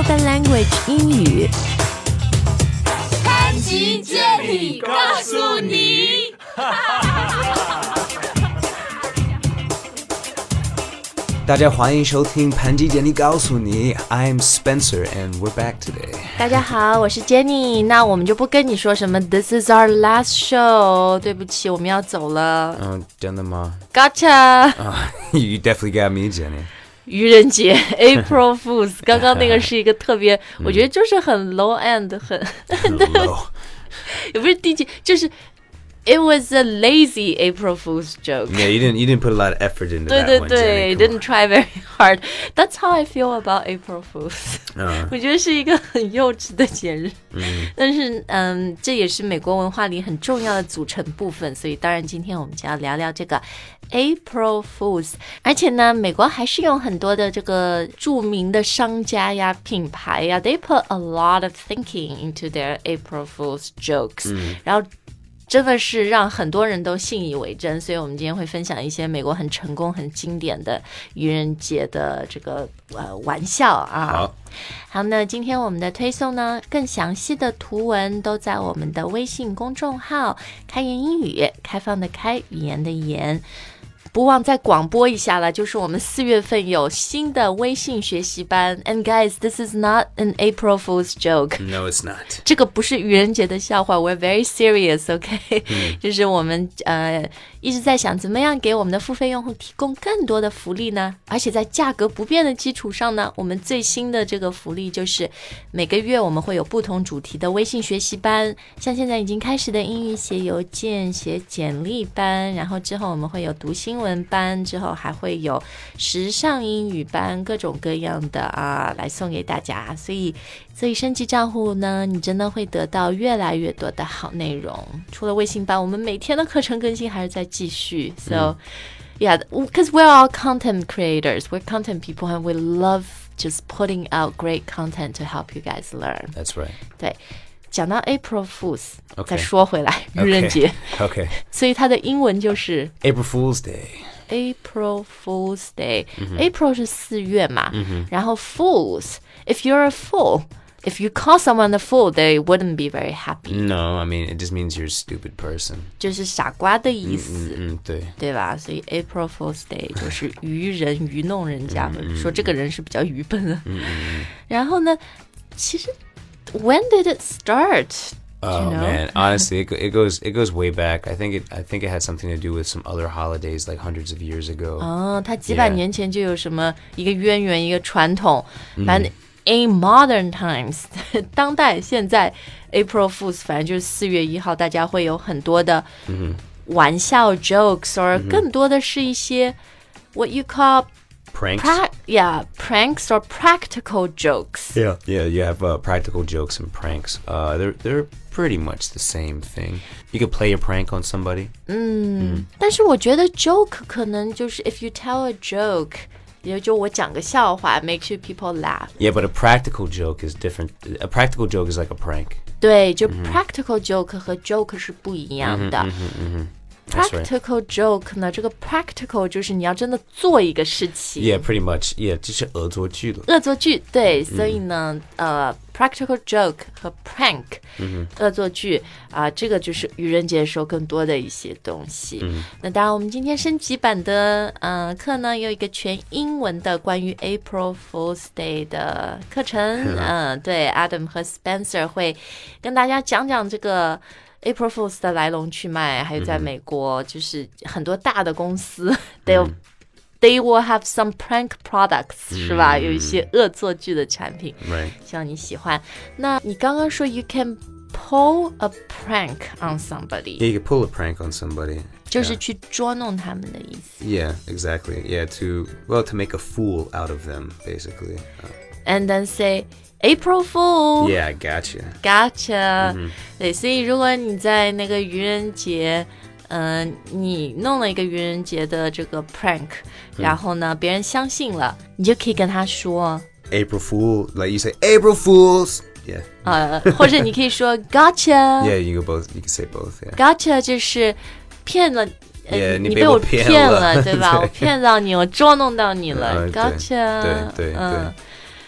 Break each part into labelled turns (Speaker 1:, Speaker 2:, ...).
Speaker 1: Spoken Language 英语。
Speaker 2: 潘吉接力告诉你。
Speaker 3: 大家欢迎收听潘吉接力告诉你 I'm Spencer and we're back today.
Speaker 1: 大家好，我是 Jenny。那我们就不跟你说什么 This is our last show， 对不起，我们要走了。
Speaker 3: 真的吗？
Speaker 1: Gotcha
Speaker 3: You definitely got me, Jenny.
Speaker 1: 愚人节 April Fools 刚刚那个是一个特别我觉得就是很 low end 很
Speaker 3: low
Speaker 1: 也不是低级，就是 It was a lazy April Fool's joke.
Speaker 3: Yeah, you didn't put a lot of effort into that one, Jenny.
Speaker 1: 对 didn't try very hard. That's how I feel about April Fools. 我觉得是一个很幼稚的节日。但是这也是美国文化里很重要的组成部分，所以当然今天我们就要聊聊这个 April Fools。而且呢，美国还是有很多的这个著名的商家呀、品牌呀 ，they put a lot of thinking into their April Fools jokes. 然后真的是让很多人都信以为真，所以我们今天会分享一些美国很成功、很经典的愚人节的这个玩笑啊。好，那今天我们的推送呢，更详细的图文都在我们的微信公众号“开言英语”，开放的开，语言的言。不忘再广播一下了，就是我们4月份有新的微信学习班 And guys, this is not an April Fool's joke.
Speaker 3: No, it's not.
Speaker 1: 这个不是愚人节的笑话 We're very serious, OK? 就是我们一直在想怎么样给我们的付费用户提供更多的福利呢？而且在价格不变的基础上呢，我们最新的这个福利就是每个月我们会有不同主题的微信学习班，像现在已经开始的英语写邮件、写简历班，然后之后我们会有读新闻班，之后还会有时尚英语班，各种各样的来送给大家。所以升级账户呢，你真的会得到越来越多的好内容。除了微信班，我们每天的课程更新还是在继续。So yeah, because we're all content creators, we're content people, and we love just putting out great content to help you guys learn.
Speaker 3: That's right.
Speaker 1: 对。讲到 April Fools， 再
Speaker 3: Okay.
Speaker 1: 说回来，愚人节。
Speaker 3: Okay.
Speaker 1: 所以它的英文就是
Speaker 3: April Fool's Day.
Speaker 1: April Fool's Day。April 是4月嘛，然后 Fools, if you're a fool, if you call someone a fool, they wouldn't be very happy.
Speaker 3: No, I mean, it just means you're a stupid person.
Speaker 1: 就是傻瓜的意思。
Speaker 3: 对。
Speaker 1: 对吧？所以 April Fool's Day 就是愚人愚弄人家，说这个人是比较愚笨的。然后呢，其实 When did it start?
Speaker 3: Oh man, honestly, it goes way back. I think it had something to do with some other holidays like hundreds of years ago.
Speaker 1: 它几百年前就有什么一个渊源，一个传统。反正 in modern times 当代现在 April Fools 反正就是4月1号，大家会有很多的玩笑 jokes， or 更多的是一些 what you call pranks or practical jokes.
Speaker 3: Yeah, you have practical jokes and pranks. They're pretty much the same thing. You could play a prank on somebody.
Speaker 1: 但是我觉得 joke 可能就是 if you tell a joke， 也就我讲个笑话 make sure people laugh.
Speaker 3: Yeah, but a practical joke is different. A practical joke is like a prank.
Speaker 1: 对，就 practical joke 和 joke 是不一样的。Practical joke 呢，这个 practical 就是你要真的做一个事情。
Speaker 3: Yeah, pretty much. Yeah, 就是恶作剧了。
Speaker 1: 恶作剧，对，所以呢，practical joke 和 prank，恶作剧这个就是愚人节的时候更多的一些东西。那当然，我们今天升级版的课呢，有一个全英文的关于 April Fool's Day 的课程。对 ，Adam 和 Spencer 会跟大家讲讲这个April Fools 的来龙去脉，还有在美国就是很多大的公司they will have some prank products 是吧？有一些恶作剧的产品，希望你喜欢。那你刚刚说 you can pull a prank on somebody.
Speaker 3: Yeah, you can pull a prank on somebody.
Speaker 1: 就是去捉弄他们的意思。
Speaker 3: Yeah, exactly. Yeah, to make a fool out of them, basically.
Speaker 1: And then say April Fool.
Speaker 3: Yeah, I gotcha.
Speaker 1: Gotcha. 对，所以如果你在那个愚人节，你弄了一个愚人节的这个 prank，然后呢，别人相信了，你就可以跟他说
Speaker 3: April Fool, like you say April Fools. Yeah.
Speaker 1: 或者你可以说 Gotcha.
Speaker 3: Yeah, you can say both. Yeah.
Speaker 1: Gotcha 就是骗了。
Speaker 3: 你
Speaker 1: 被我骗了，
Speaker 3: 了
Speaker 1: 对吧？我骗到你，我捉弄到你了。Gotcha.
Speaker 3: 对。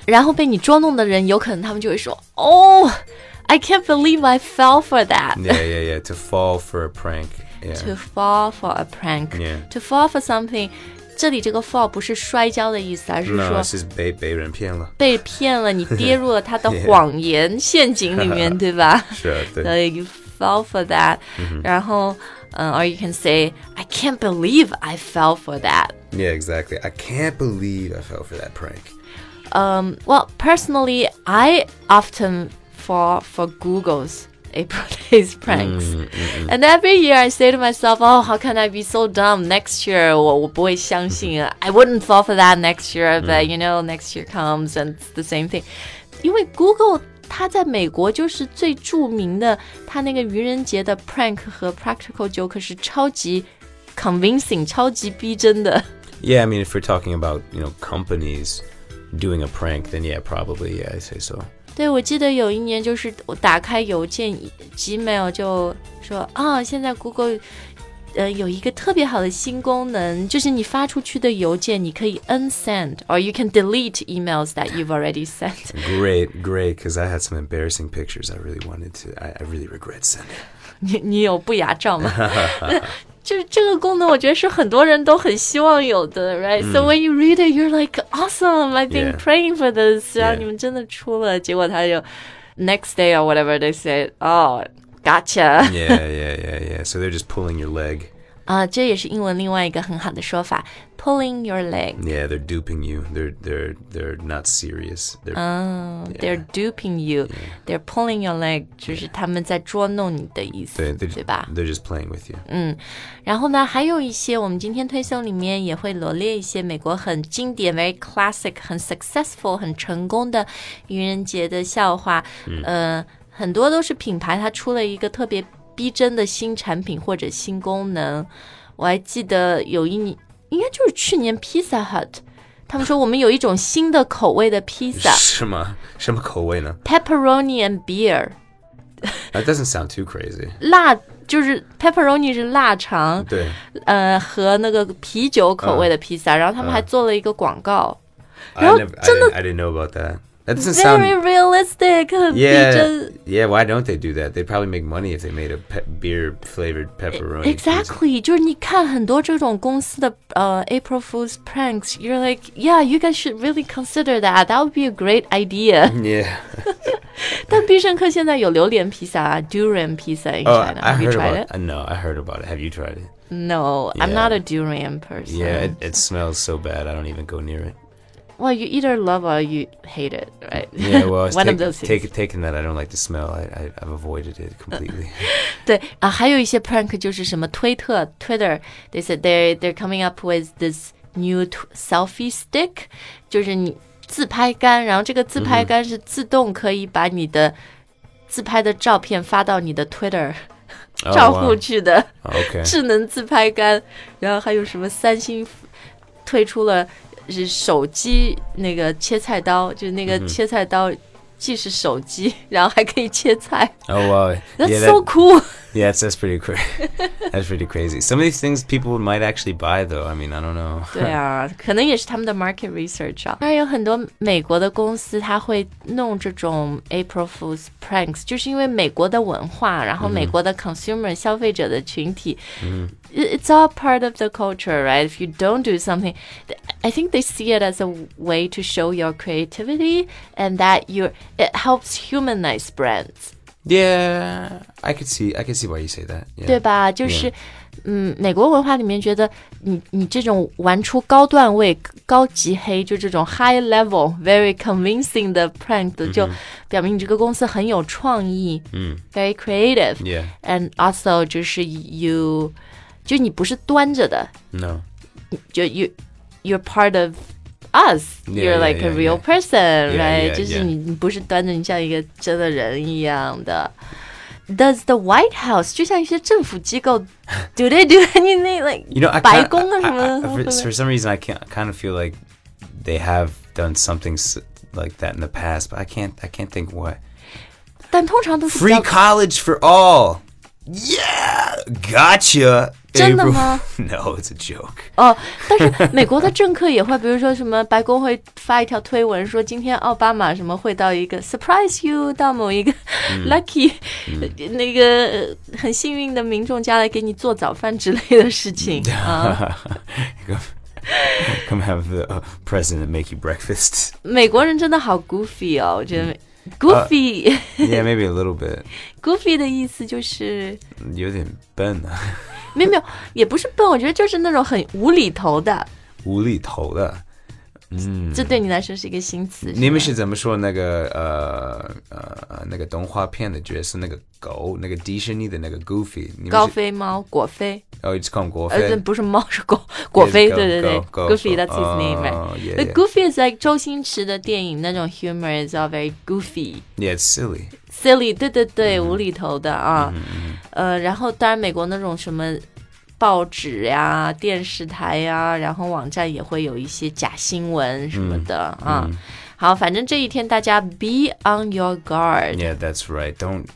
Speaker 1: 然后被你捉弄的人，有可能他们就会说 Oh, I can't believe I fell for that.
Speaker 3: Yeah. To fall for a prank. Yeah.
Speaker 1: To fall for a prank.
Speaker 3: Yeah.
Speaker 1: To fall for something. 这里这个 fall 不是摔跤的意思，而是说
Speaker 3: No, it's just 被人骗了。
Speaker 1: 被骗了，你跌入了他的谎言陷阱里面，对吧？
Speaker 3: 是，对。
Speaker 1: So you fell for that. 然后or you can say, I can't believe I fell for that.
Speaker 3: Yeah, exactly. I can't believe I fell for that prank.
Speaker 1: Well, personally, I often fall for Google's April Days pranks. And every year I say to myself, oh, how can I be so dumb? Next year, 我不会相信 I wouldn't fall for that next year, but you know, next year comes and it's the same thing. 因为 Google 它在美国就是最著名的，它那个愚人节的 prank 和 practical joke 是超级 convincing, 超级逼真的。
Speaker 3: Yeah, I mean, if we're talking about, companies doing a prank, then yeah, probably, yeah, I say so.
Speaker 1: 对，我记得有一年就是我打开邮件 Gmail 就说现在 Google 有一个特别好的新功能，就是你发出去的邮件你可以 unsend or you can delete emails that you've already sent.
Speaker 3: Great, because I had some embarrassing pictures I really wanted to, I really regret sending.
Speaker 1: 你有不雅照吗？就是这个功能我觉得是很多人都很希望有的 right? So when you read it, you're like, awesome, I've been praying for this. 然后你们真的出了，结果他就 next day or whatever they said, oh, gotcha.
Speaker 3: Yeah. So they're just pulling your leg.
Speaker 1: 这也是英文另外一个很好的说法 pulling your leg.
Speaker 3: Yeah, they're duping you. They're not serious.
Speaker 1: They're duping you. They're pulling your leg. 就是他们在捉弄你的意思，对吧？
Speaker 3: They're just playing with you.
Speaker 1: 然后呢，还有一些我们今天推送里面也会罗列一些美国很经典 very classic 很 successful 很成功的愚人节的笑话。很多都是品牌它出了一个特别逼真的新产品或者新功能。我还记得有一年应该就是去年 Pizza Hut 他们说我们有一种新的口味的披萨。
Speaker 3: 什么口味呢？
Speaker 1: Pepperoni and beer.
Speaker 3: That doesn't sound too crazy.
Speaker 1: 辣就是 pepperoni 是腊肠，
Speaker 3: 对，
Speaker 1: 和那个啤酒口味的披萨，然后他们还做了一个广告，然后真的
Speaker 3: I didn't know about that. That doesn't
Speaker 1: very
Speaker 3: sound
Speaker 1: realistic 很逼真。
Speaker 3: Yeah, why don't they do that? They'd probably make money if they made a beer flavored pepperoni.
Speaker 1: Exactly, 就是你看很多这种公司的April Fool's pranks, you're like, yeah, you guys should really consider that. That would be a great idea.
Speaker 3: Yeah.
Speaker 1: 但必胜客现在有榴莲披萨 durian pizza in China. Have you tried it?
Speaker 3: No, I heard about it. Have you tried it?
Speaker 1: No, I'm not a durian person.
Speaker 3: Yeah, it smells so bad. I don't even go near it.
Speaker 1: Well, you either love or you hate it, right?
Speaker 3: Yeah, well,
Speaker 1: One of those things.
Speaker 3: Taking that, I don't like the smell. I've avoided it completely.
Speaker 1: 对啊，还有一些 prank 就是什么Twitter. They said they're coming up with this new selfie stick， 就是你自拍杆，然后这个自拍杆是自动可以把你的自拍的照片发到你的 Twitter 账户去的智能自拍杆。然后还有什么三星推出了。是手机那个切菜刀，就是那个切菜刀既是手机，然后还可以切菜。
Speaker 3: Oh wow,
Speaker 1: that's so cool.
Speaker 3: Yeah, that's pretty crazy. That's pretty crazy. Some of these things people might actually buy, though. I mean, I don't know.
Speaker 1: 对啊，可能也是他们的 market research 啊。当然有很多美国的公司，他会弄这种 April Fool's pranks， 就是因为美国的文化，然后美国的 consumer 消费者的群体。It's all part of the culture, right? If you don't do something, I think they see it as a way to show your creativity and that it helps humanize brands.
Speaker 3: Yeah, I could see why you say that. Yeah.
Speaker 1: 对吧？就是，美国文化里面觉得你这种玩出高段位、高级黑，就这种 high level, very convincing 的 prank 就表明你这个公司很有创意，very creative.
Speaker 3: Yeah.
Speaker 1: And also 就是就你不是端着的
Speaker 3: ，No，
Speaker 1: 就you're part of us. You're like a real person, right? 就是你不是端着，你像一个真的人一样的。Does the White House 就像一些政府机构 do they do anything like 白宫啊什么的
Speaker 3: For some reason, I kind of feel like they have done something like that in the past, but I can't think what.
Speaker 1: 但通常都是
Speaker 3: Free college for all. Yeah, gotcha.
Speaker 1: 真的吗？
Speaker 3: No, it's a joke.
Speaker 1: 哦，但是美国的政客也会，比如说什么白宫会发一条推文说今天奥巴马什么会到一个 surprise you 到某一个 lucky 那个很幸运的民众家来给你做早饭之类的事情啊。
Speaker 3: Come have the president make you breakfast.
Speaker 1: 美国人真的好 goofy 哦，我觉得。Goofy,
Speaker 3: Yeah, maybe a little bit.
Speaker 1: Goofy 的意思就是
Speaker 3: 有点笨啊。
Speaker 1: 没有，也不是笨，我觉得就是那种很无厘头的。
Speaker 3: 无厘头的，
Speaker 1: 这对你来说是一个新词。
Speaker 3: 你们是怎么说那个那个动画片的角色那个狗那个迪士尼的那个 Goofy？
Speaker 1: 高飞猫果飞。
Speaker 3: Oh, it's called 果飞。
Speaker 1: 不是猫，是狗。果飞，对对对。Goofy, that's his name, right?
Speaker 3: Yeah,
Speaker 1: The Goofy is like 周星驰的电影那种 humor is all very goofy.
Speaker 3: Yeah, it's silly.
Speaker 1: Silly, 对对对，无厘头的啊。然后当然美国那种什么报纸呀、电视台呀，然后网站也会有一些假新闻什么的啊。好，反正这一天大家 be on your guard.
Speaker 3: Yeah, that's right.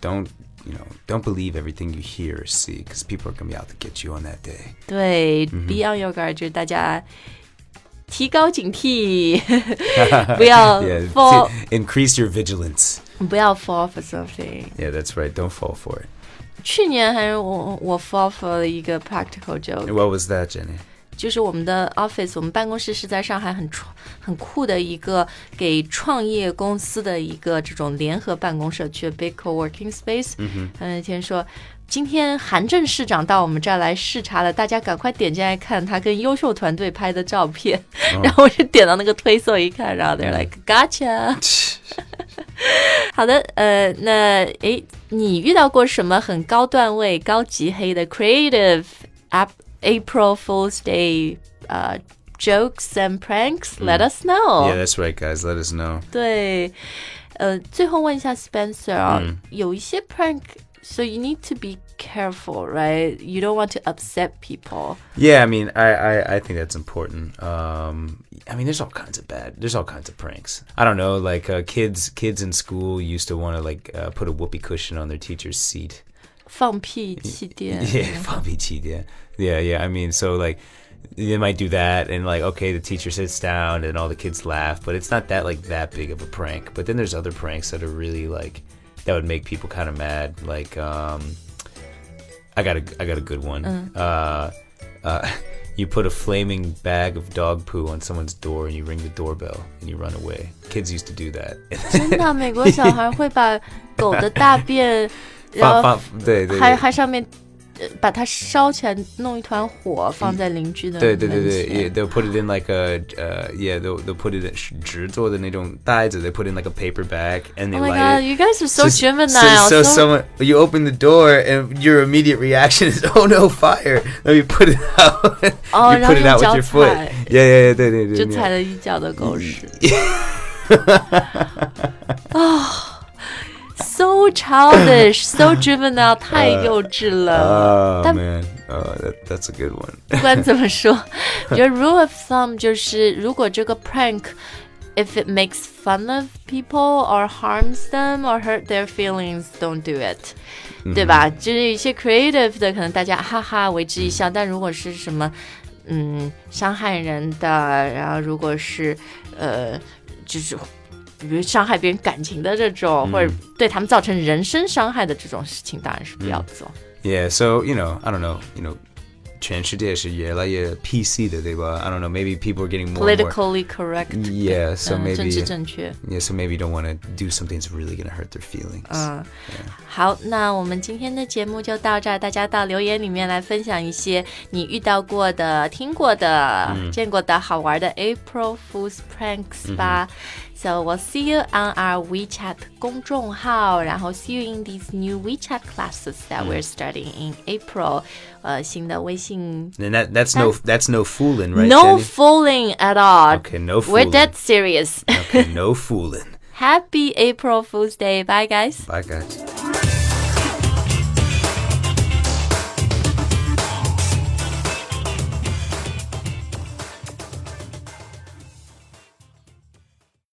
Speaker 3: Don't believe everything you hear or see, because people are going to be out to get you on that day.
Speaker 1: 对，be on your guard 就是大家提高警惕，不要 fall,
Speaker 3: increase your vigilance.
Speaker 1: 不要 fall for something.
Speaker 3: Yeah, that's right. Don't fall for it.
Speaker 1: 去年还是我 fall for 了一个 practical joke.
Speaker 3: What was that, Jenny?
Speaker 1: 就是我们的 office， 我们办公室是在上海很酷的一个给创业公司的一个这种联合办公社区 big co-working space。他那天说，今天韩正市长到我们这儿来视察了，大家赶快点进来看他跟优秀团队拍的照片。然后我就点到那个推送一看，然后 they're like gotcha 。好的，那你遇到过什么很高段位、高级黑的 creative April Fool's Day jokes and pranks? Let us know.
Speaker 3: Yeah, that's right, guys. Let us know.
Speaker 1: 对，最后问一下 Spencer 啊，有一些 prank, so you need to be careful, right? You don't want to upset people.
Speaker 3: Yeah, I mean, I think that's important. I mean, there's all kinds of pranks. I don't know, like kids in school used to want to like put a whoopee cushion on their teacher's seat.
Speaker 1: 放屁气垫
Speaker 3: Yeah, 放屁气垫 Yeah, I mean, so like they might do that and like, okay, the teacher sits down and all the kids laugh, but it's not that big of a prank. But then there's other pranks that are really like, that would make people kind of mad. Like, I got a good one. You put a flaming bag of dog poo on someone's door and you ring the doorbell and you run away. Kids used to do that.
Speaker 1: 真的，美国小孩会把狗的大便然后还上面把它烧起来，弄一团火放在邻居的门前。
Speaker 3: 对 they'll put it in like a they'll put it in 纸做的那种袋子 they put in like a paper bag and they
Speaker 1: Oh my
Speaker 3: light
Speaker 1: god,
Speaker 3: it.
Speaker 1: you guys are so juvenile.
Speaker 3: So someone, you open the door and your immediate reaction is, oh no, fire. Then you put it out. You put it out with your foot. Yeah, 对
Speaker 1: 就踩了一脚的狗屎。So childish, so juvenile, 太幼稚了。
Speaker 3: Oh man, that's a good one.
Speaker 1: 不管怎么说，我觉得 rule of thumb 就是如果这个 prank, if it makes fun of people or harms them or hurt their feelings, don't do it. 对吧？就是一些 creative 的，可能大家哈哈为之一笑，但如果是什么伤害人的，然后如果是就是比如伤害别人感情的这种，或者对他们造成人身伤害的这种事情，当然是不要做。
Speaker 3: Yeah, so I don't know, 全世界是越来越 PC 的，对吧？ I don't know, maybe people are getting more
Speaker 1: politically correct.
Speaker 3: Yeah, so maybe
Speaker 1: 政治正确。
Speaker 3: Yeah, so maybe you don't want to do something that's really going to hurt their feelings.
Speaker 1: 好，那我们今天的节目就到这儿，大家到留言里面来分享一些你遇到过的、听过的、见过的好玩的 April Fool's pranks 吧。So we'll see you on our WeChat 公众号，然后 see you in these new WeChat classes that we're starting in April. 新的微信。
Speaker 3: And that's no fooling, right?
Speaker 1: No
Speaker 3: Jenny?
Speaker 1: fooling at all.
Speaker 3: Okay, no fooling.
Speaker 1: We're dead serious.
Speaker 3: Okay, no fooling.
Speaker 1: Happy April Fool's Day. Bye, guys.
Speaker 3: Bye, guys.